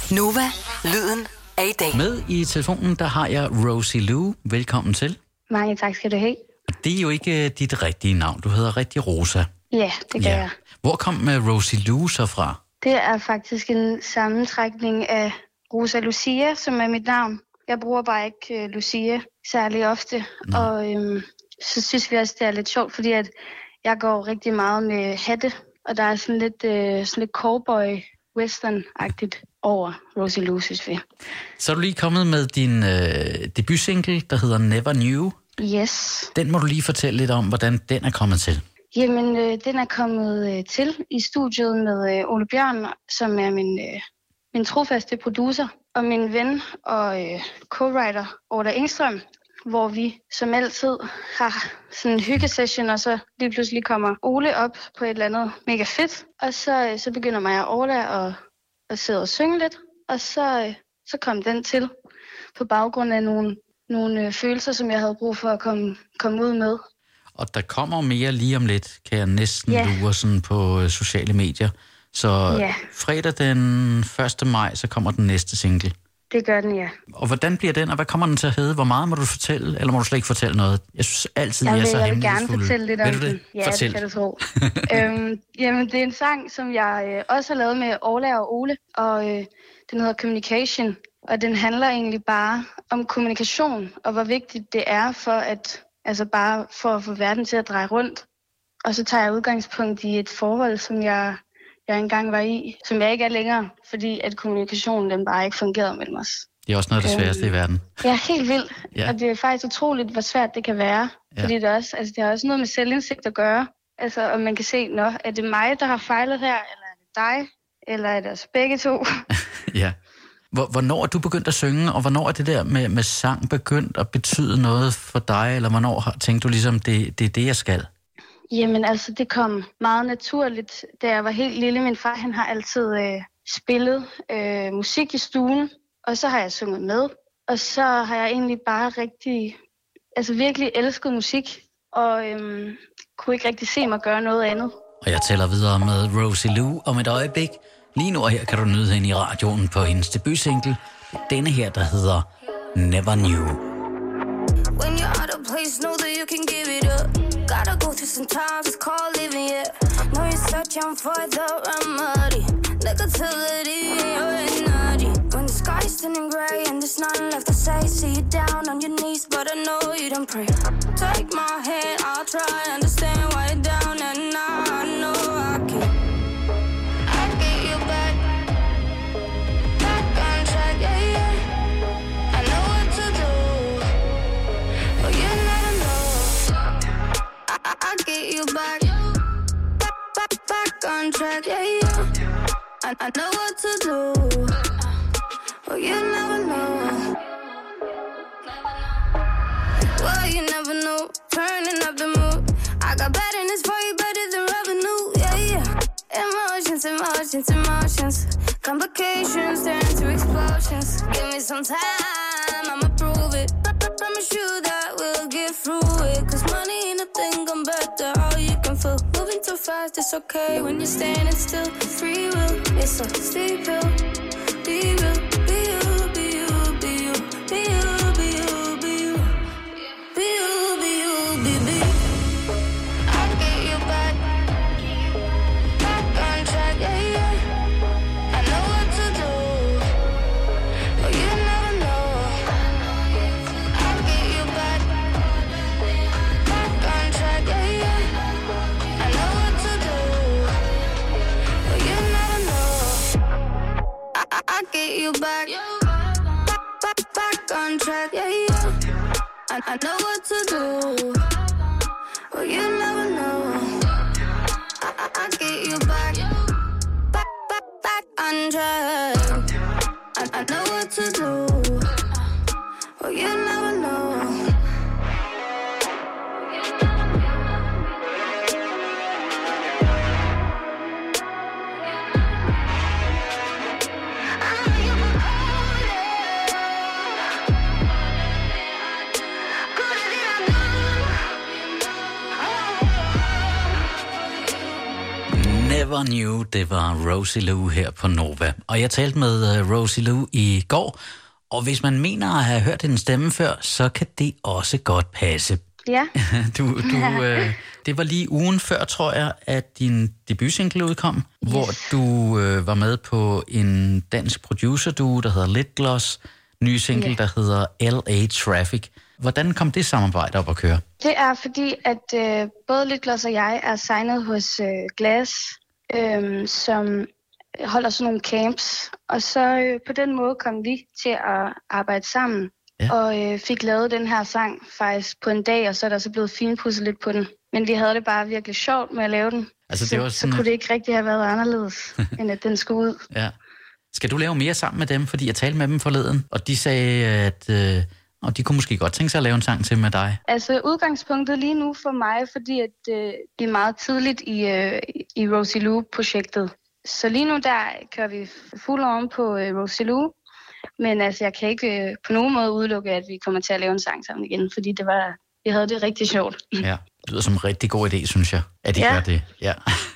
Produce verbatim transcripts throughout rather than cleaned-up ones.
Nova, lyden af i dag. Med i telefonen, der har jeg Rosie Lou. Velkommen til. Mange tak skal du have. Det er jo ikke dit rigtige navn. Du hedder rigtig Rosa. Ja, det gør ja. jeg. Hvor kom Rosie Lou så fra? Det er faktisk en sammentrækning af Rosa Lucia, som er mit navn. Jeg bruger bare ikke uh, Lucia særlig ofte. Nå. Og øhm, så synes vi også, det er lidt sjovt, fordi at jeg går rigtig meget med hatte. Og der er sådan lidt, øh, sådan lidt cowboy-western-agtigt over Rosie Lou, synes vi. Så er du lige kommet med din øh, debutsingle, der hedder Never Knew. Yes. Den må du lige fortælle lidt om, hvordan den er kommet til. Jamen, øh, den er kommet øh, til i studiet med øh, Ole Bjørn, som er min, øh, min trofaste producer, og min ven og øh, co-writer Orla Engstrøm, hvor vi som altid har sådan en hyggesession, og så lige pludselig kommer Ole op på et eller andet mega fedt, og så, øh, så begynder mig og Orla at, at sidde og synge lidt, og så, øh, så kom den til på baggrund af nogle, nogle øh, følelser, som jeg havde brug for at komme, komme ud med. Og der kommer mere lige om lidt, kan jeg næsten yeah. lure sådan på øh, sociale medier. Så yeah. fredag den første maj, så kommer den næste single. Det gør den, ja. Og hvordan bliver den, og hvad kommer den til at hedde? Hvor meget må du fortælle, eller må du slet ikke fortælle noget? Jeg synes altid, jeg, jeg er så hemmelighedsfulde. Jeg vil gerne fortælle lidt om den. den. Ja, Fortæl. det kan du tro. øhm, jamen, det er en sang, som jeg øh, også har lavet med Orla og Ole, og øh, den hedder Communication. Og den handler egentlig bare om kommunikation, og hvor vigtigt det er for at, altså bare for at få verden til at dreje rundt. Og så tager jeg udgangspunkt i et forhold, som jeg, jeg engang var i, som jeg ikke er længere, fordi at kommunikationen den bare ikke fungerede mellem os. Det er også noget af det sværeste øhm, i verden. Ja, helt vildt. Ja. Og det er faktisk utroligt, hvor svært det kan være. Ja. Fordi det, er også, altså, det har også noget med selvindsigt at gøre. Altså, om man kan se, nå, er det mig, der har fejlet her, eller er det dig, eller er det os begge to? Ja. Hvornår er du begyndt at synge, og hvornår er det der med, med sang begyndt at betyde noget for dig, eller hvornår tænkte du ligesom, det, det er det, jeg skal? Jamen altså, det kom meget naturligt, da jeg var helt lille. Min far, han har altid øh, spillet øh, musik i stuen, og så har jeg sunget med. Og så har jeg egentlig bare rigtig, altså virkelig elsket musik, og øhm, kunne ikke rigtig se mig gøre noget andet. Og jeg tæller videre med Rosie Lou om et øjeblik. Lige nu og her kan du nyde hende i radioen på hendes debutsingle. Denne her, der hedder Never Knew. When you're out of place, know that you can give it up. Gotta go through some times, it's called living, yeah. Know you're searching for the remedy. Negativity in your energy. When the sky's turning grey and there's nothing left to say, see you down on your knees, but I know you don't pray. Take my hand, I'll try, understand why you're down, and now I know I can. I'll get you back, back on track, yeah, yeah. I know what to do, but you never know. I, I, I'll get you back, back, back, back on track, yeah, yeah. I, I know what to do, but you never know. Well, you never know, turning up the mood. I got bad in this for you, better than revenue, yeah, yeah. Emotions, emotions, emotions. Complications turn to explosions. Give me some time, I'ma prove it. Promise you that we'll get through it. Cause money ain't a thing, I'm better how you can feel. Moving too fast, it's okay when you're standing still. Free will, it's a steep hill. Be real, be you, be you, be you, be you, be you, be you. Be you, be you, be be. I'll get you back, back on track, yeah, yeah. I know what to do, but you never know. I'll get you back, back on track, yeah, yeah. I know what to do, but you never know. I, I, I'll get you back, back, back, back on track, yeah, yeah. I, I know what to do, but you never know. I, I, I'll get you back, back, back, back on track. I, I know what to do, but you never know. Never Knew, det var Rosie Lou her på Nova. Og jeg talte med uh, Rosie Lou i går, og hvis man mener at have hørt hendes stemme før, så kan det også godt passe. Ja. du, du, øh, det var lige ugen før, tror jeg, at din debutsingle udkom, yes. hvor du øh, var med på en dansk producer-duo, der hedder Litgloss, ny single, yeah. der hedder L A Traffic. Hvordan kom det samarbejde op at køre? Det er fordi, at øh, både Litgloss og jeg er signet hos øh, Glass, øh, som holder sådan nogle camps. Og så øh, på den måde kom vi til at arbejde sammen. Ja. Og øh, fik lavet den her sang faktisk på en dag, og så er der så blevet finpudset lidt på den. Men vi havde det bare virkelig sjovt med at lave den. Altså, det så, var sådan... så kunne det ikke rigtig have været anderledes, end at den skulle ud. Ja. Skal du lave mere sammen med dem? Fordi jeg talte med dem forleden, og de sagde, at øh, og de kunne måske godt tænke sig at lave en sang til med dig. Altså udgangspunktet lige nu for mig, fordi at, øh, det er meget tidligt i, øh, i Rosie Lou-projektet. Så lige nu der kører vi fuld on på øh, Rosie Lou. Men altså, jeg kan ikke øh, på nogen måde udelukke, at vi kommer til at lave en sang sammen igen, fordi det var, vi havde det rigtig sjovt. Ja, det lyder som en rigtig god idé, synes jeg, at I ja. gør det. Ja.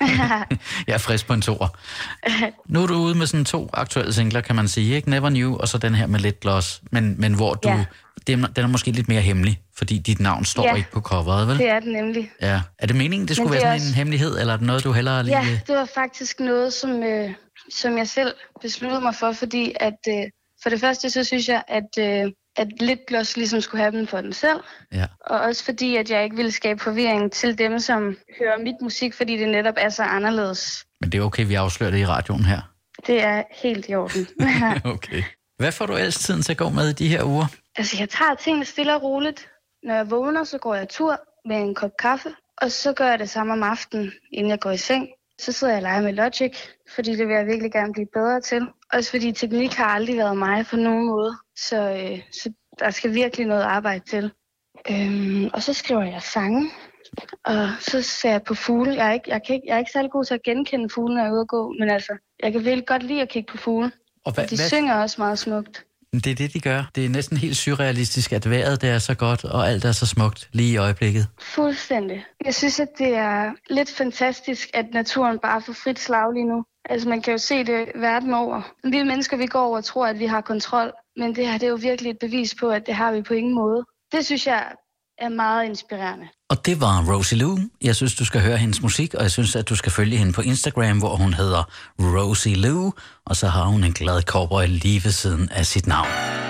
Jeg er frisk på en toer. Nu er du ude med sådan to aktuelle singler, kan man sige, ikke? Never Knew, og så den her med Litgloss, men, men hvor du, ja. den, den er måske lidt mere hemmelig, fordi dit navn står ja. ikke på coveret, vel? Det er det nemlig. Ja. Er det meningen, det skulle det være sådan også... en hemmelighed, eller er det noget, du hellere lige... Ja, det var faktisk noget, som, øh, som jeg selv besluttede mig for, fordi at... Øh, For det første, så synes jeg, at, øh, at Litgloss ligesom skulle have den for den selv. Ja. Og også fordi, at jeg ikke ville skabe forvirring til dem, som hører mit musik, fordi det netop er så anderledes. Men det er okay, vi afslører det i radioen her. Det er helt i orden. Okay. Hvad får du ellers tiden til at gå med i de her uger? Altså, jeg tager tingene stille og roligt. Når jeg vågner, så går jeg tur med en kop kaffe. Og så gør jeg det samme om aftenen, inden jeg går i seng. Så sidder jeg og leger med Logic, fordi det vil jeg virkelig gerne blive bedre til. Også fordi teknik har aldrig været mig på nogen måde, så, øh, så der skal virkelig noget arbejde til. Øhm, og så skriver jeg sange, og så ser jeg på fugle. Jeg er ikke, jeg kan ikke, jeg er ikke særlig god til at genkende fugle, når jeg er ude at gå, men altså, jeg kan virkelig godt lide at kigge på fugle. Og hvad, de hvad... synger også meget smukt. Det er det, de gør. Det er næsten helt surrealistisk, at vejret det er så godt, og alt er så smukt lige i øjeblikket. Fuldstændig. Jeg synes, at det er lidt fantastisk, at naturen bare får frit slag lige nu. Altså, man kan jo se det verden over. Vi mennesker, vi går over og tror, at vi har kontrol, men det her, det er jo virkelig et bevis på, at det har vi på ingen måde. Det synes jeg er meget inspirerende. Og det var Rosie Lou. Jeg synes, du skal høre hendes musik, og jeg synes, at du skal følge hende på Instagram, hvor hun hedder Rosie Lou, og så har hun en glad cowboy lige ved siden af sit navn.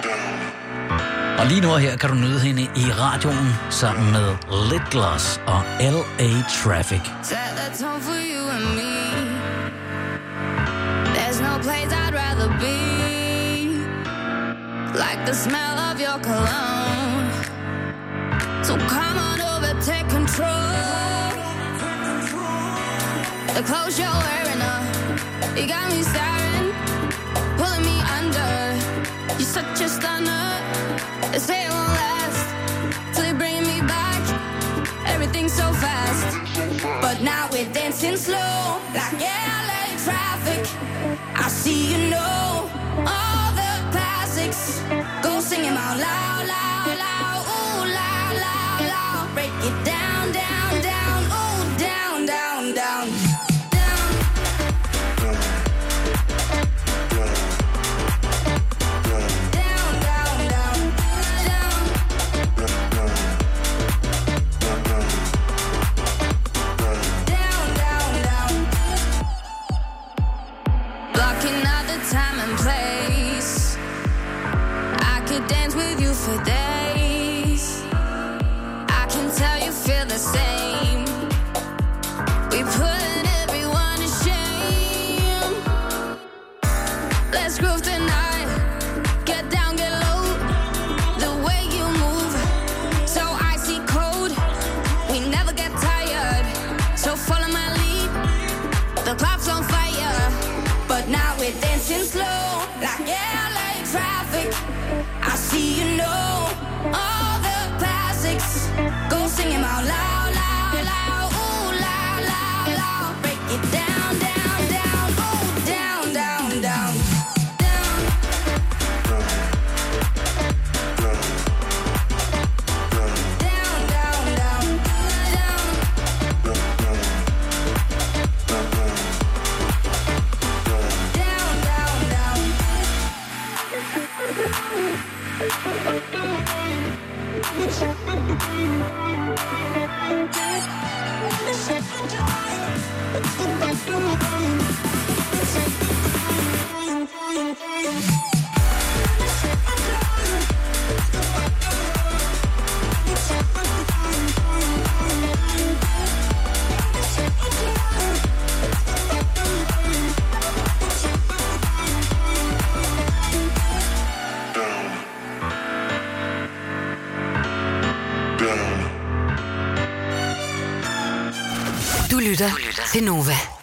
Og lige nu her kan du nyde hende i radioen sammen med Litgloss og L A Traffic. There's no place I'd rather be, like the smell of your cologne. So come on over, take control. The clothes you're wearing up, you got me staring, pulling me under. You're such a stunner. They say it won't last till you bring me back. Everything's so fast, but now we're dancing slow, like L A traffic. I see you know all the classics. Go sing them out loud, loud, loud. Ooh, loud, loud, loud. Break it down, down, down. Ooh, down, down, down. Down. Down, down, down. Down. Down, down, down. Blocking out the time and place. I could dance with you for days. I can tell you feel the same. We put everyone to shame. Let's groove tonight. Get down, get low. The way you move, so icy cold. We never get tired, so follow my lead. The clock's on fire, but now we're dancing slow, like L A traffic. I see you know all the classics. Go sing them out loud, loud, loud. Ooh, loud, loud, loud. Break it down, down, down. Ooh, down, down, down. Down. Down, down, down. Down. Du lytter til Nova.